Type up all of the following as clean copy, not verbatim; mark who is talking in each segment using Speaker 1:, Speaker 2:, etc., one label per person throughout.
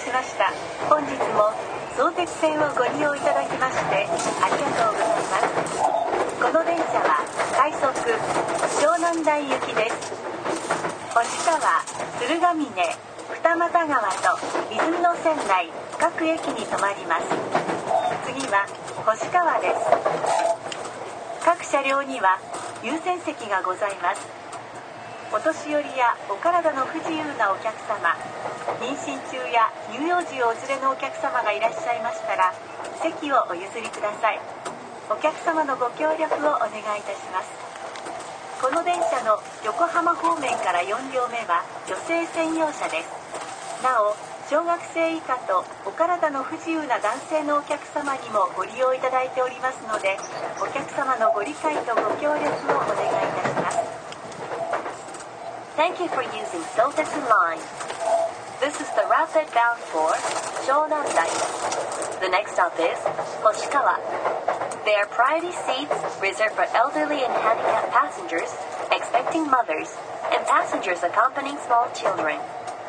Speaker 1: しました。本日も相鉄線をご利用いただきましてありがとうございます。この電車は快速湘南台行きです。星川、鶴ヶ峰、二俣川と泉の線内各駅に停まります。次は星川です。各車両には優先席がございます。お年寄りやお体の不自由なお客様、妊娠中や乳幼児をお連れのお客様がいらっしゃいましたら席をお譲りください。お客様のご協力をお願いいたします。この電車の横浜方面から4両目は女性専用車です。なお小学生以下とお体の不自由な男性のお客様にもご利用いただいておりますので、お客様のご理解とご協力をお願いいたします。Thank you for using Sotessen Line. This is the rapid bound for Shonandai. The next stop is Hoshikawa. There are priority seats reserved for elderly and handicapped passengers, expecting mothers, and passengers accompanying small children.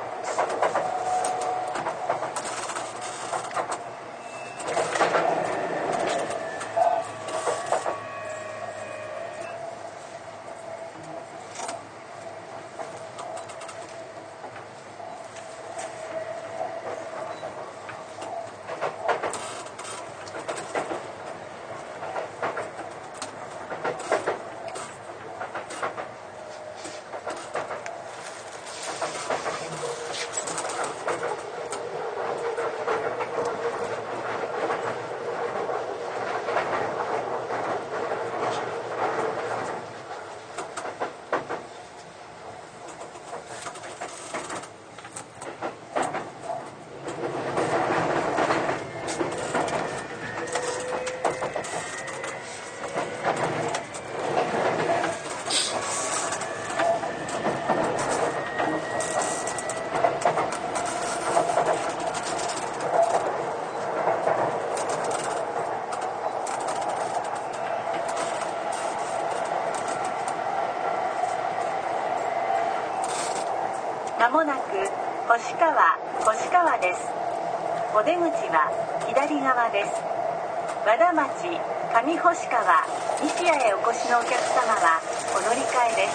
Speaker 1: まもなく星川です。お出口は左側です。和田町、上星川、西谷へお越しのお客様はお乗り換えです。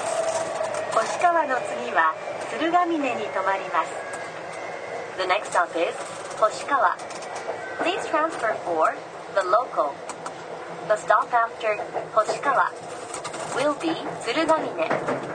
Speaker 1: 星川の次は鶴ヶ峰に停まります。The next stop is Hoshikawa. Please transfer for the local. The stop after Hoshikawa will be 鶴ヶ峰。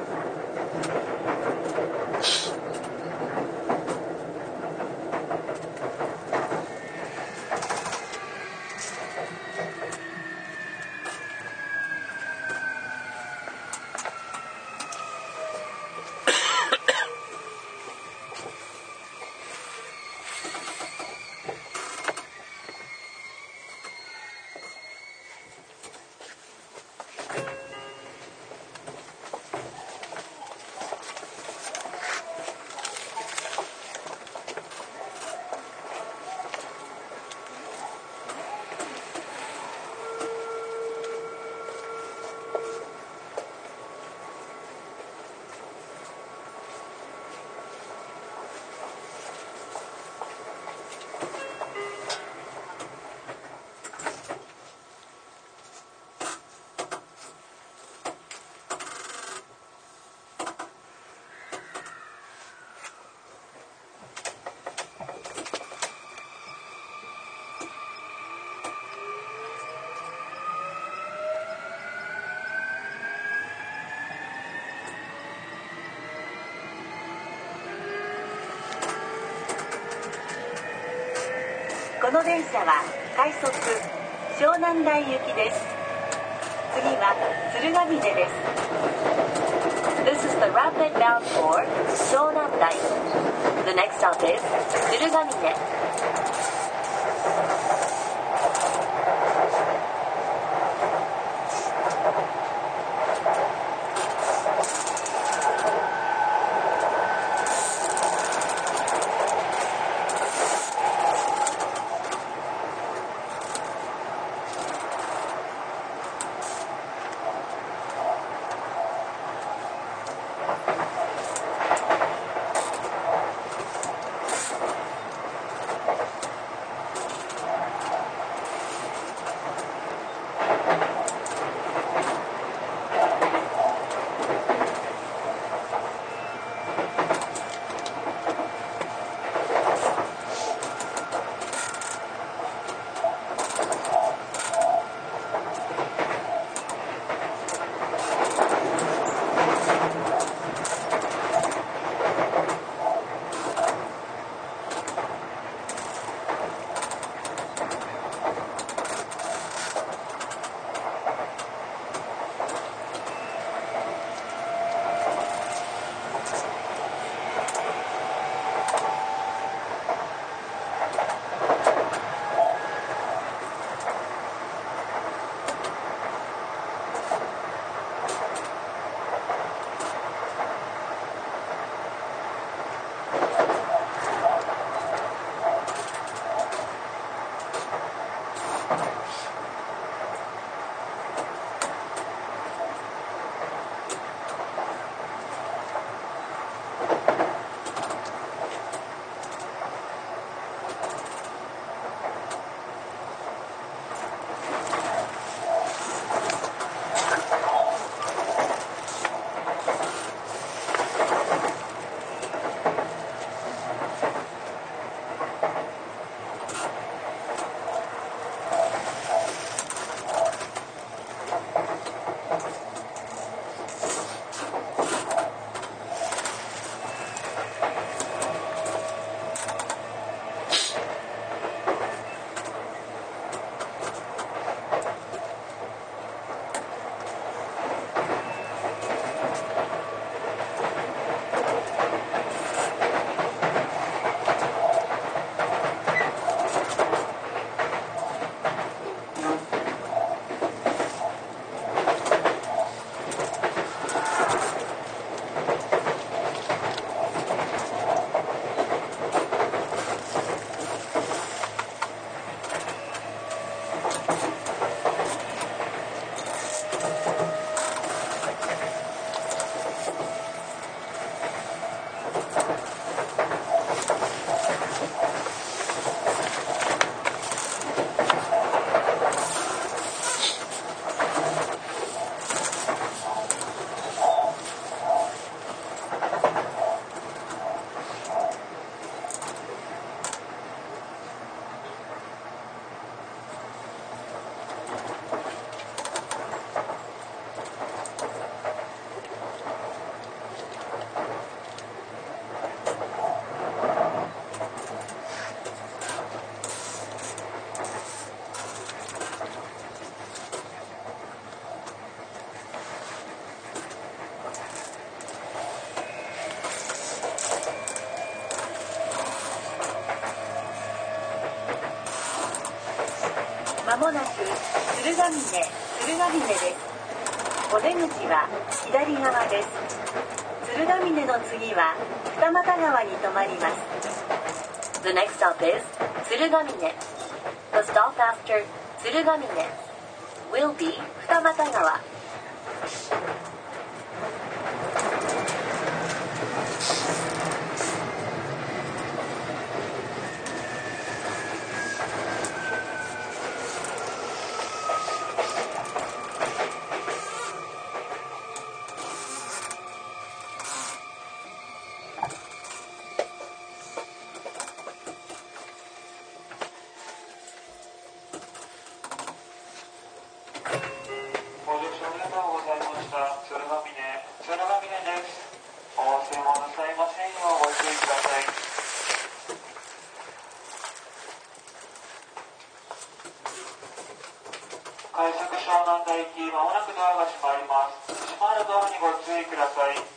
Speaker 1: この電車は快速湘南台行きです。次は鶴ヶ峰です。This is the rapid bound for 湘南台。The next stop is 鶴ヶ峰。 もなく鶴ヶ峰です。お出口は左側です。鶴ヶ峰の次は二俣川に停まります。The next stop is 鶴ヶ峰。The stop after 鶴ヶ峰 will be 二俣川。
Speaker 2: 快速湘南台行き、まもなくドアが閉まります。閉まるドアにご注意ください。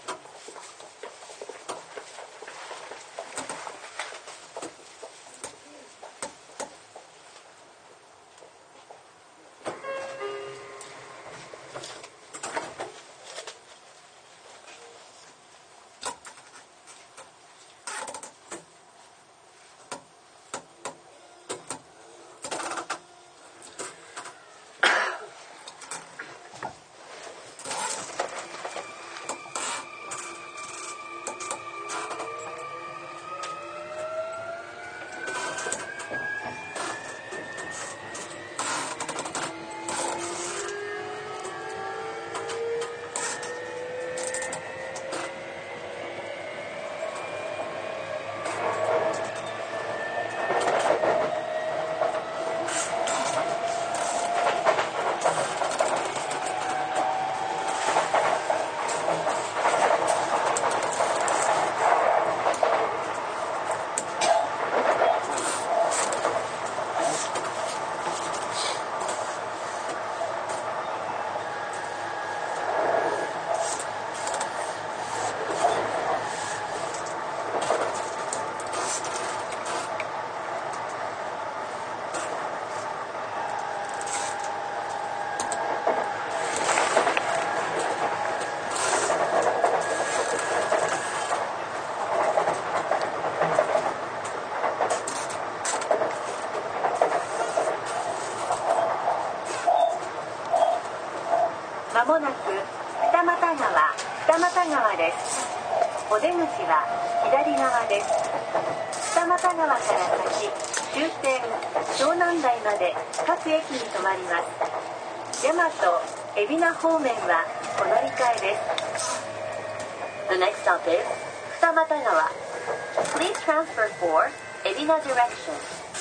Speaker 1: まもなく二俣川です。お出口は左側です。二俣川から先、終点湘南台まで各駅に停まります。大和海老名方面はお乗り換えです。The next stop is 二俣川。Please transfer for 海老名 direction.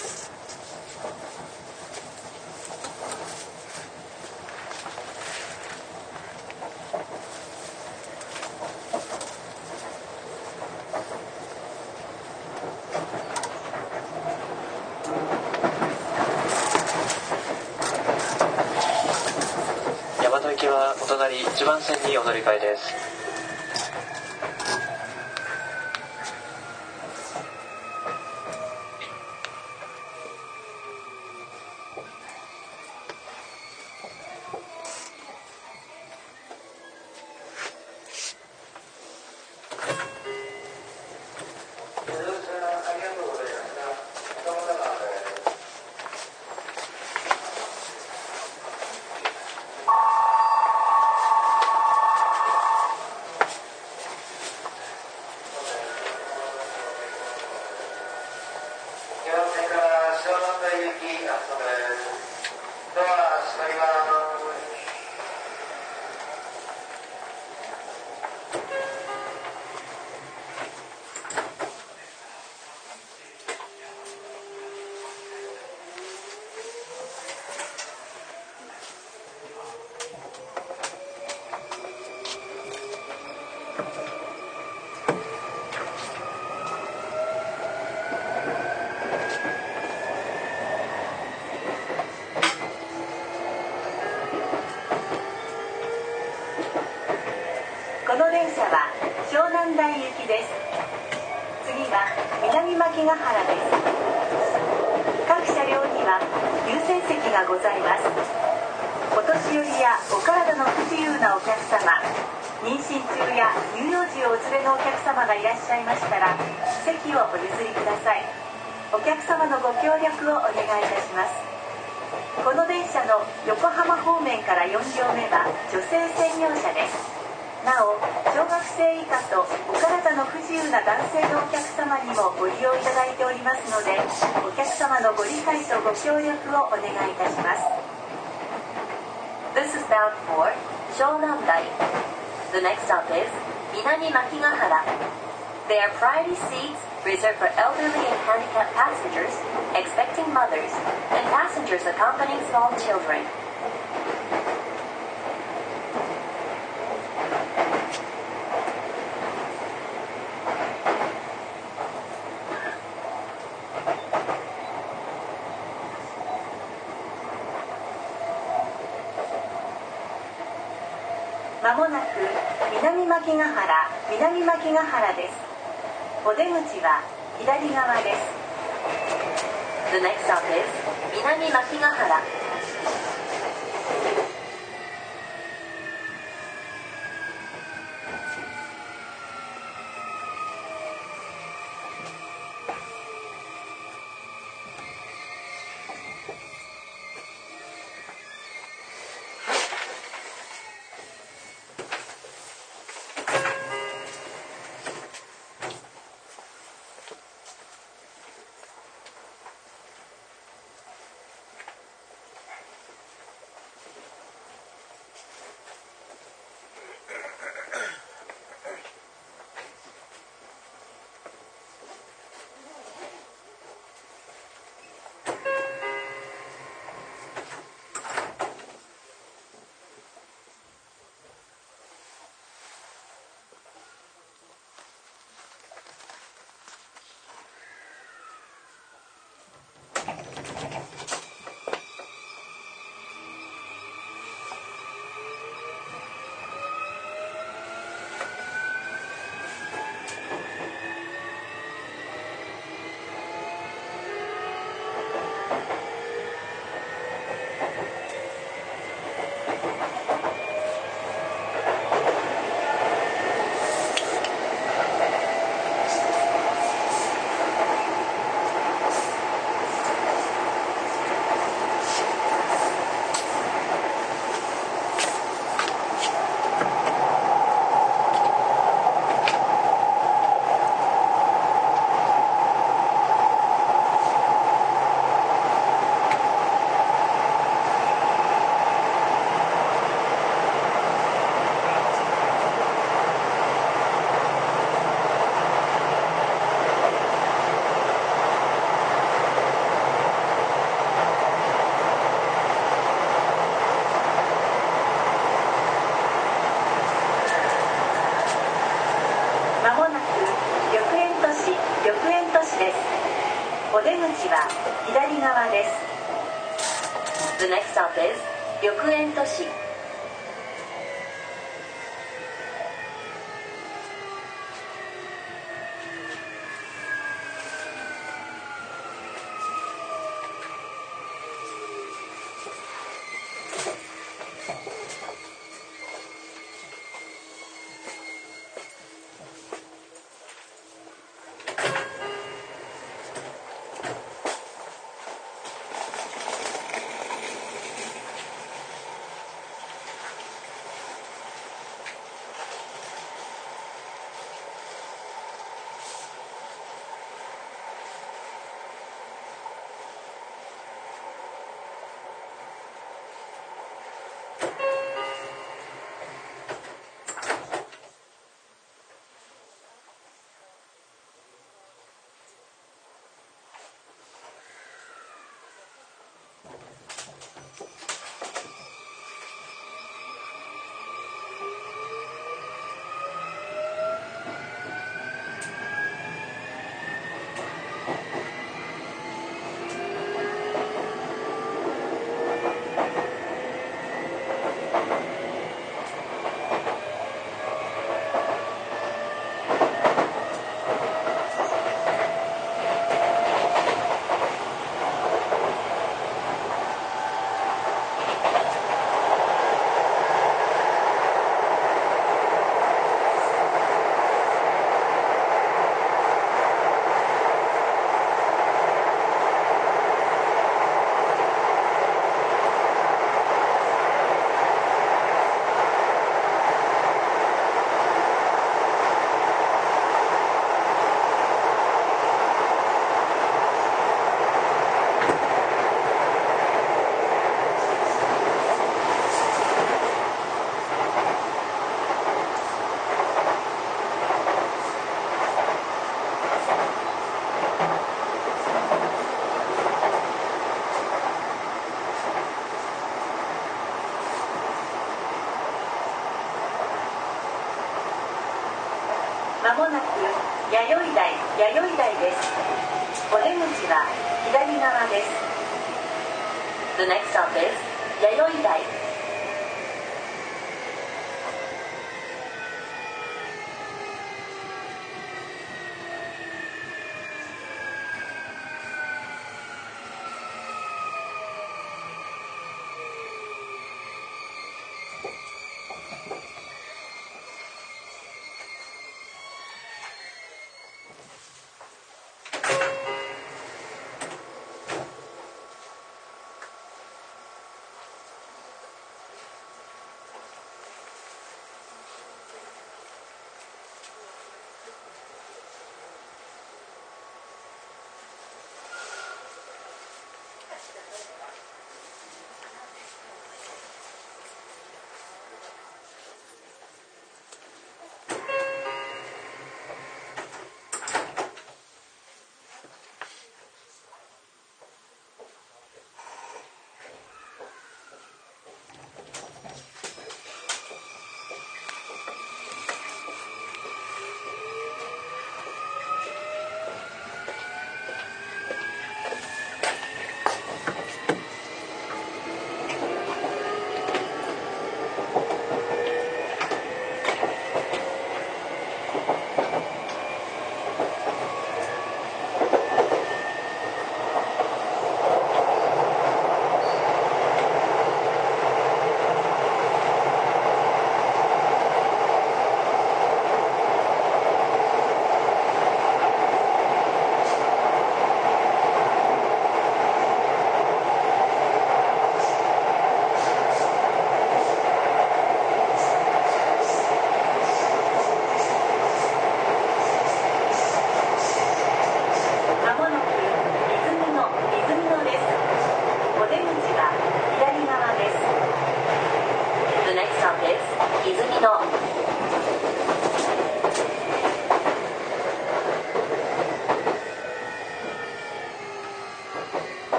Speaker 3: 大和行きはお隣1番線にお乗り換えです。
Speaker 1: この電車は湘南台行きです。次は南牧ヶ原です。各車両には優先席ががございます。お年寄りやお体の不自由なお客様、妊娠中や乳幼児をお連れのお客様がいらっしゃいましたら、席をお譲りください。お客様のご協力をお願いいたします。この電車の横浜方面から4両目は女性専用車です。なお、小学生以下とお体の不自由な男性のお客様にもご利用いただいておりますので、お客様のご理解とご協力をお願いいたします。
Speaker 4: This is bound for Shonandai. The next stop is Minami Makigahara. There are priority seats reserved for elderly and handicapped passengers, expecting mothers, and passengers accompanying small children.
Speaker 1: まもなく南牧ヶ原です。お出口は左側です。
Speaker 4: The next stop is Minami Makigahara.
Speaker 1: お出口は左側です。
Speaker 4: The next stop is 緑園都市。
Speaker 1: 弥生台です。お出口は左側です。
Speaker 4: The next stop is 弥生台。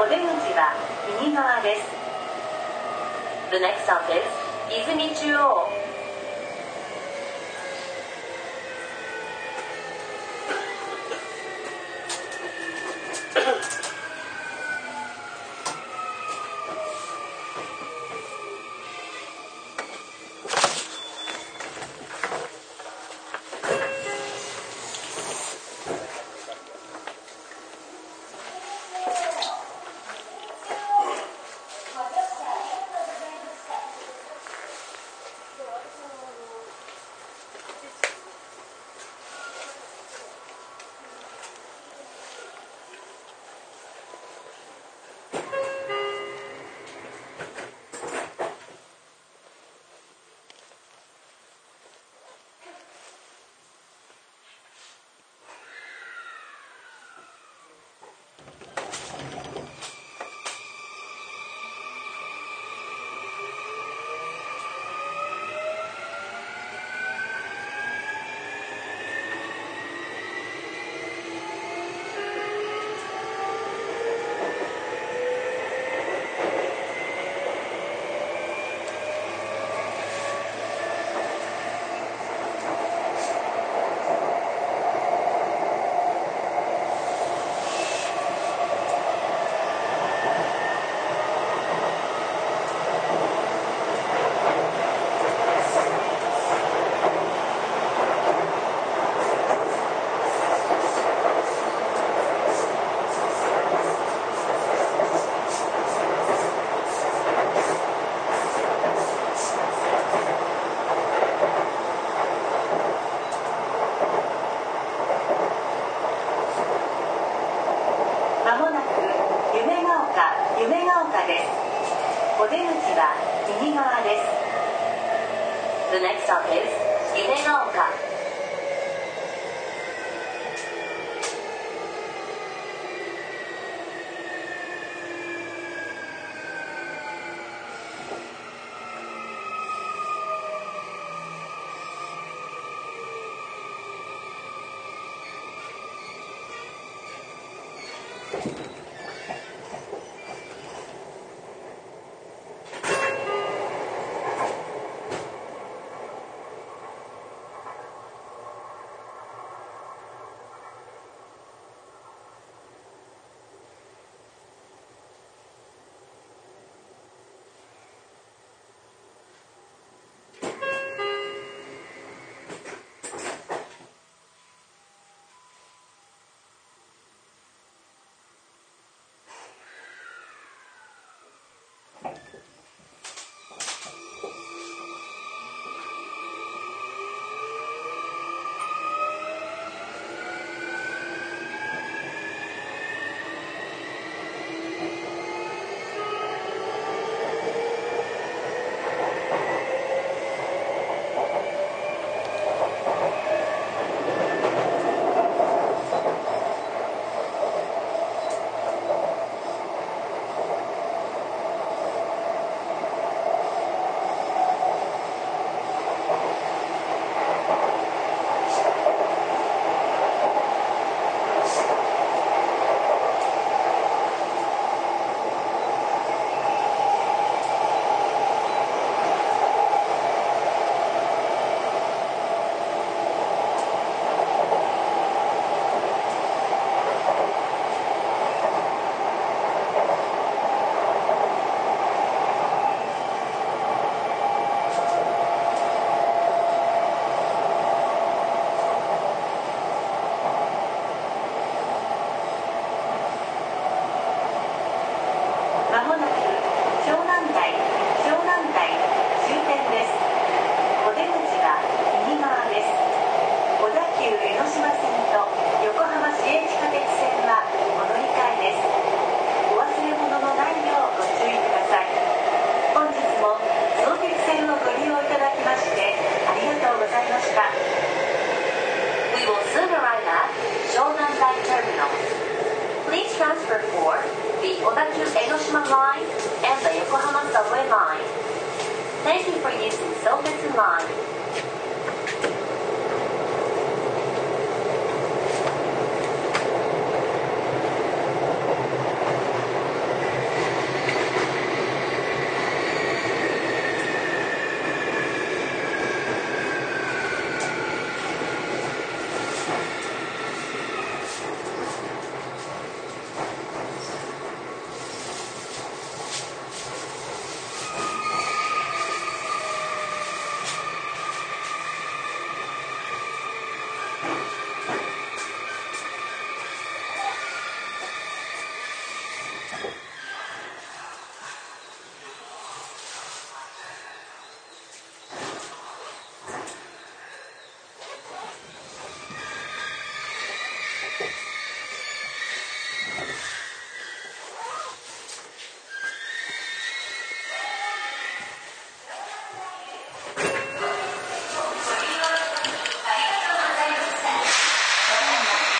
Speaker 1: 出口は右側です。
Speaker 4: The next stop is 泉中央。
Speaker 1: 夢が丘です。お出口は右側です。
Speaker 4: The next stop is 夢が丘。We will soon arrive at Shonandai Terminal. Please transfer for the Odakyu Enoshima Line and the Yokohama Subway Line. Thank you for using Sofitsu Line.